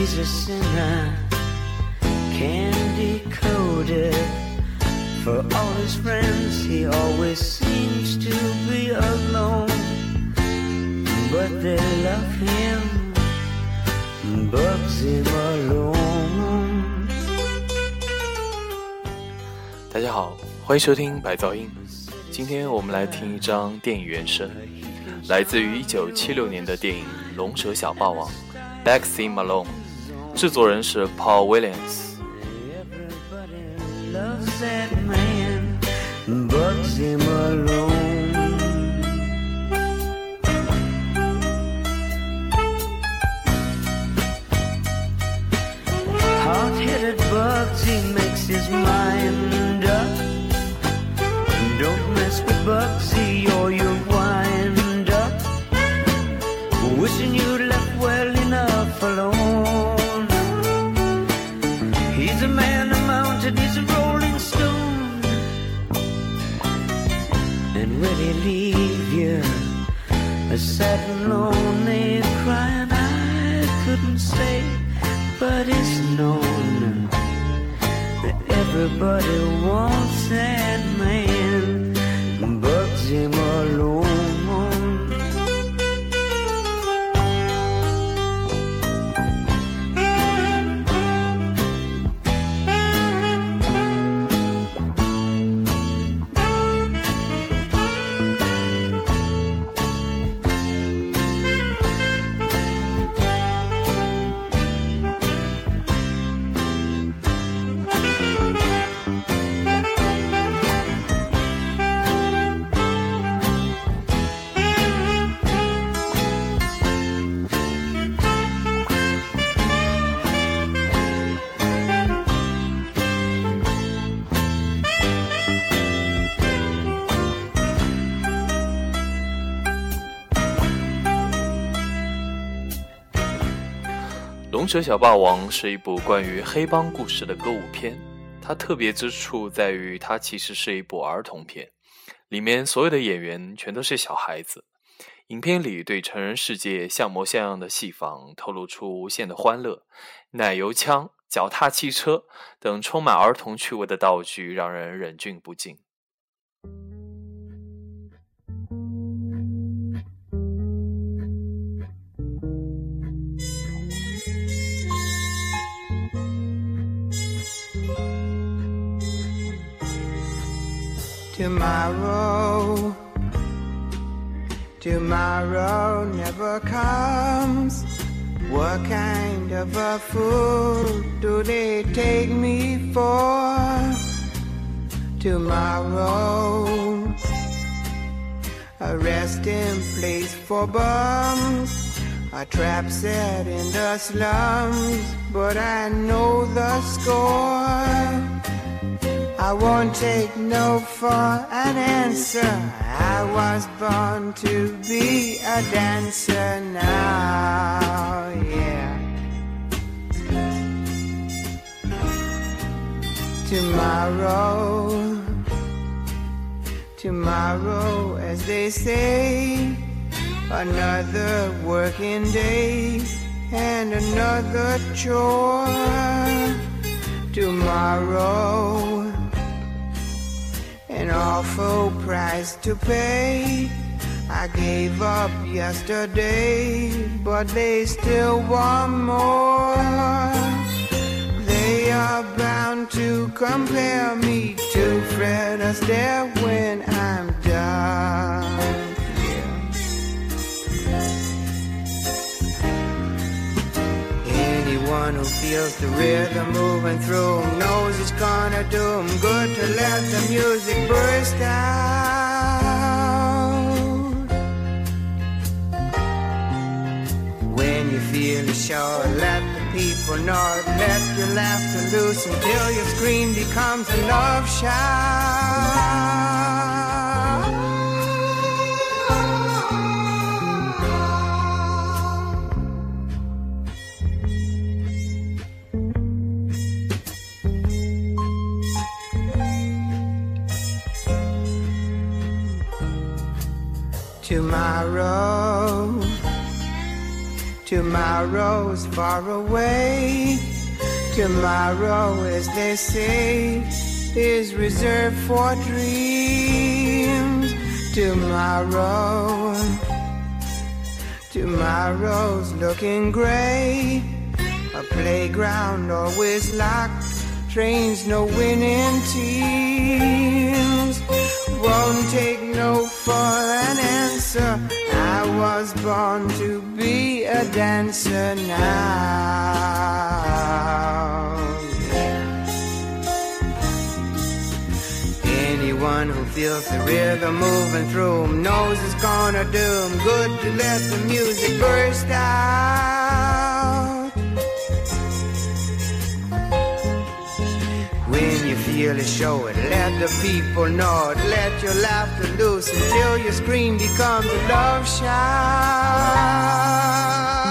he's a sinner, can't decode it. For all his friends, he always seems to be alone. But they love him, bugs him alone. 大家好，欢迎收听白噪音。今天我们来听一张电影原声，来自于1976年的电影《龙蛇小霸王》Backseat Malone， 制作人是 Paul Williams。Everybody loves that man, bugs him alone. Hard-headed bugs, he makes his mind up. Don't mess with Bugsy or you'll wind up wishing you'd left well enough alone. He's a man, a mountain, he's a rolling stone. And when he leave you, sad and lonely, crying I couldn't say, but it's known that everybody wants that man, bugs him alone. 《龙蛇小霸王》是一部关于黑帮故事的歌舞片，它特别之处在于它其实是一部儿童片，里面所有的演员全都是小孩子。影片里对成人世界像模像样的戏仿透露出无限的欢乐，奶油枪、脚踏汽车等充满儿童趣味的道具让人忍俊不禁。 Tomorrow never comes. What kind of a fool do they take me for? Tomorrow, a resting place for bums, a trap set in the slums, but I know the score. I won't take no for an answer. I was born to be a dancer now, yeah. Tomorrow, as they say, another working day and another chore. Tomorrow, an awful price to pay. I gave up yesterday, but they still want more. They are bound to compare me to Fred Astaire when I'm done. Anyone who feels the rhythm moving through him knows it's gonna do him good to let the music burst out. When you feel it sure, let the people know it. Let your laughter loose until your scream becomes a love shout. Tomorrow's far away. Tomorrow, as they say, is reserved for dreams. Tomorrow's looking gray. A playground always locked, trains no winning teams. Won't take no for an answer. I was born to be a dancer now. Anyone who feels the rhythm moving through 'em knows it's gonna do 'em good to let the music burst out. When you feel it, show it, let the people know it. Let your laughter loose until your scream becomes a love shout.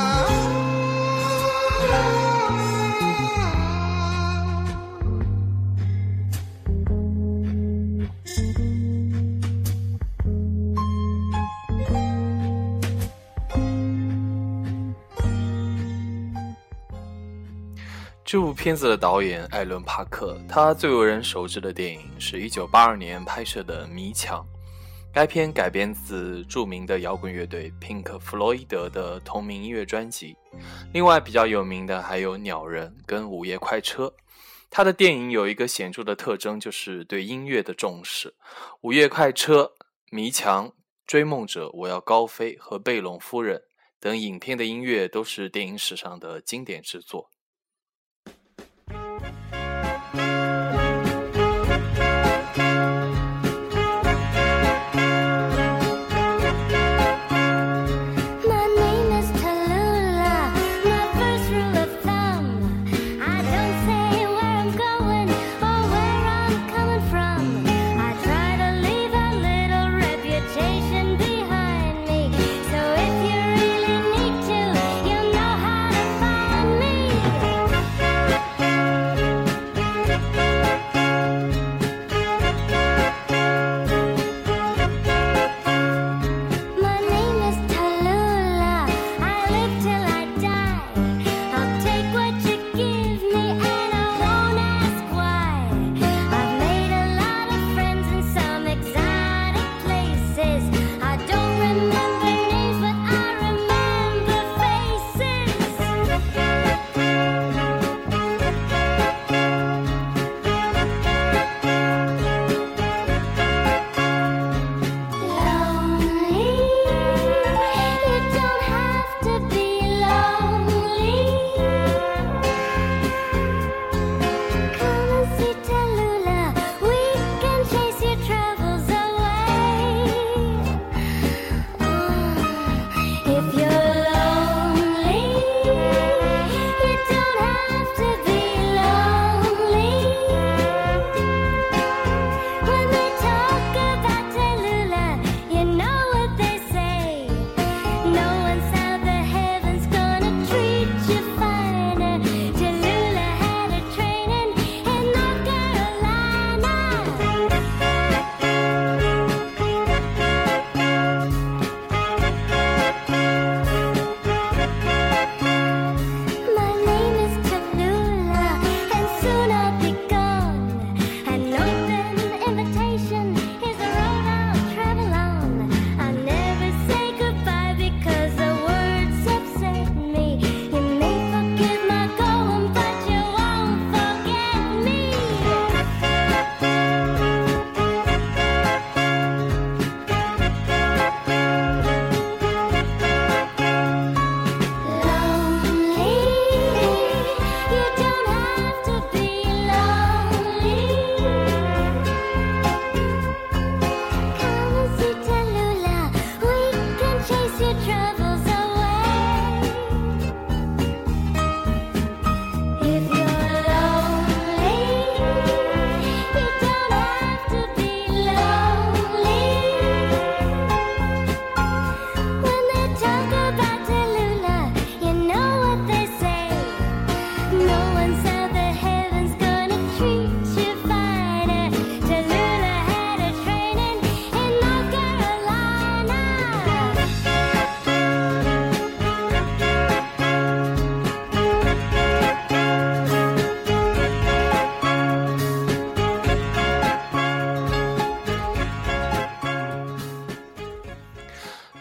这部片子的导演艾伦·帕克，他最为人熟知的电影是1982年拍摄的《迷墙》。该片改编自著名的摇滚乐队 Pink 弗洛伊德的同名音乐专辑。另外比较有名的还有《鸟人》跟《午夜快车》。他的电影有一个显著的特征，就是对音乐的重视。《午夜快车》、《迷墙》、《追梦者》、《我要高飞》和《贝隆夫人》等影片的音乐都是电影史上的经典之作。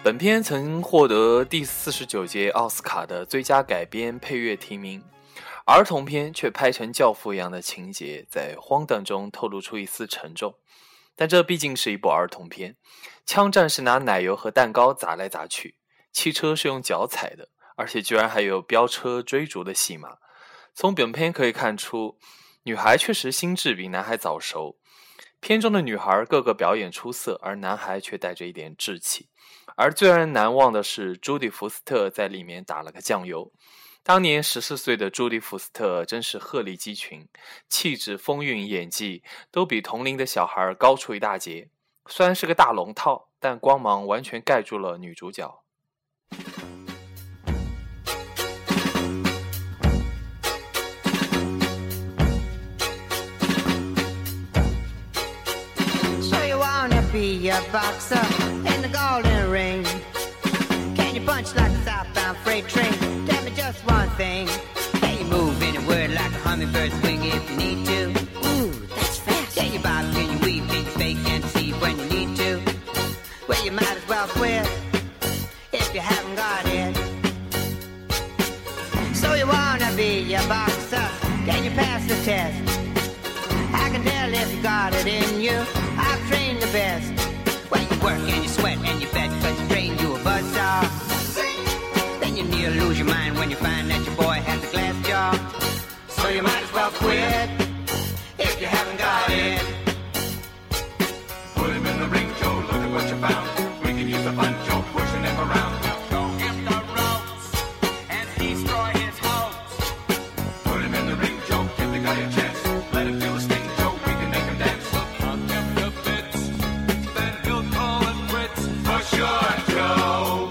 本片曾获得第49届奥斯卡的最佳改编配乐提名，儿童片却拍成教父一样的情节，在荒诞中透露出一丝沉重。但这毕竟是一部儿童片，枪战是拿奶油和蛋糕砸来砸去，汽车是用脚踩的，而且居然还有飙车追逐的戏码。从本片可以看出，女孩确实心智比男孩早熟。片中的女孩个个表演出色，而男孩却带着一点稚气。而最让人难忘的是，朱迪·福斯特在里面打了个酱油。当年14岁的朱迪·福斯特真是鹤立鸡群，气质、风韵、演技都比同龄的小孩高出一大截。虽然是个大龙套，但光芒完全盖住了女主角。 Be a boxer in the golden ring. Can you punch like a southbound freight train? Tell me just one thing. Can you move any word like a hummingbird's wing if you need to? Ooh, that's fast. Can you bob, can you weave, can you fake and see when you need to? Well, you might as well quit if you haven't got it. So you wanna be a boxer? Can you pass the test? I can tell if you got it in you. I've trained the best. When you work and you sweat and you bet, cause you trained you a buzzsaw. Then you near lose your mind when you find that your boy has a glass jaw. So you might as well quit if you haven't got it. Put him in the ring, Joe, look at what you found. We can use the fun, Joe, pushing him around. Show him the ropes and destroy his hopes. Put him in the ring, Joe, give the guy a chance. Let him feel the sting, Joe, we can make him dance. I'll give the bits, then he'll call it quits. For sure, Joe.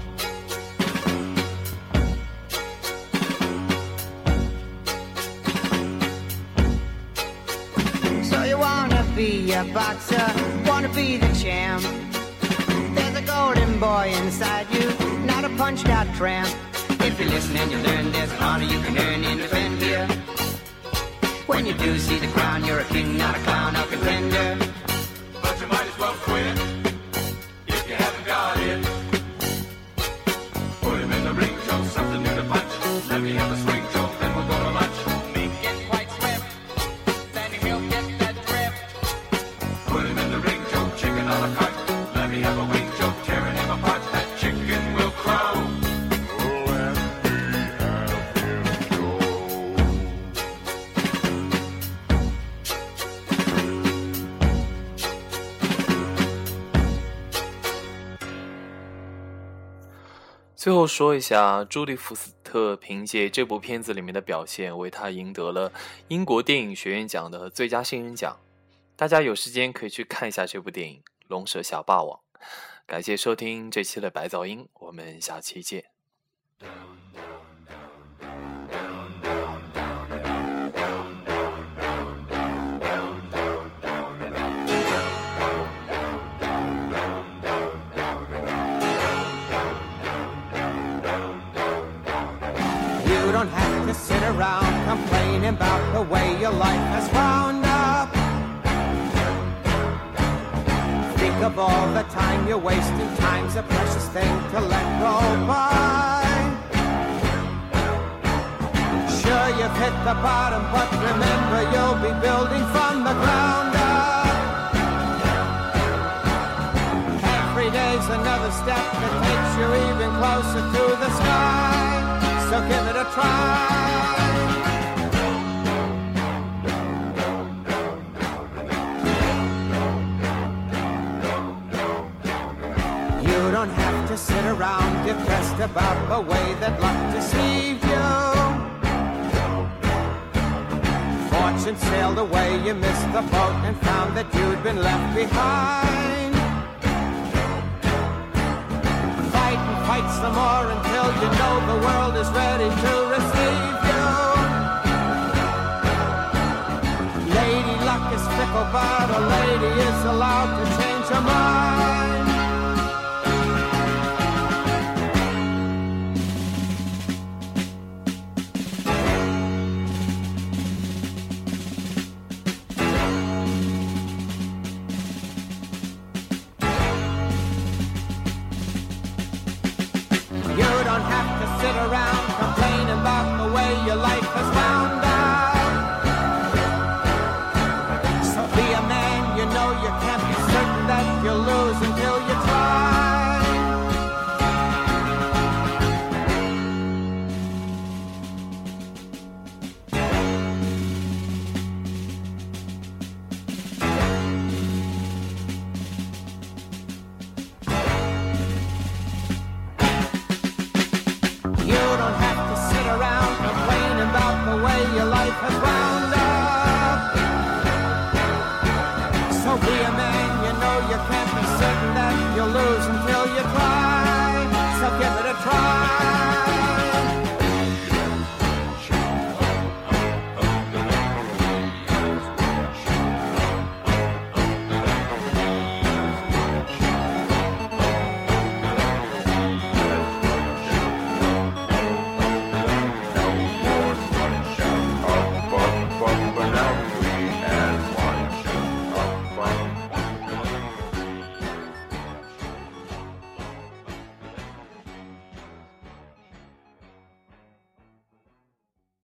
So you wanna be a boxer, wanna be the champ. There's a golden boy inside you, not a punched out tramp. If you listen and you learn, there's an honor you can earn in defend here. When you do see the crown, you're a king, not a clown or contender. But you might as well quit if you haven't got it. Put him in the ring, Joe, something new to punch. Let me have a swing, Joe, then we'll go to lunch. Make it quite swift, then he'll get that drift. Put him in the ring, Joe, chicken a la carte. Let me have a wing, Joe, tearing him apart. That chicken will crow. Oh, and we have him, Joe. 最后说一下，朱迪·福斯特凭借这部片子里面的表现，为他赢得了英国电影学院奖的最佳新人奖。大家有时间可以去看一下这部电影《龙蛇小霸王》。感谢收听这期的白噪音，我们下期见。 You don't have to sit around complaining about the way your life has wound up. Think of all the time you're wasting. Time's a precious thing to let go by. Sure, you've hit the bottom, but remember you'll be building from the ground up. Every day's another step that takes you even closer to the sky. So give it a try. You don't have to sit around depressed about the way that luck deceived you. Fortune sailed away, you missed the boat and found that you'd been left behind. Fight and fight some more until you know the world is ready to receive you. Lady luck is fickle, but a lady is allowed to change her mind. don't have to sit around complaining about the way your life has wound out. So be a man, you know you can't be certain that you'll lose until you try. You don't have to sit around complaining about the way your life has wound up. So be a man, you know you can't be certain that you'll lose until you try. So give it a try.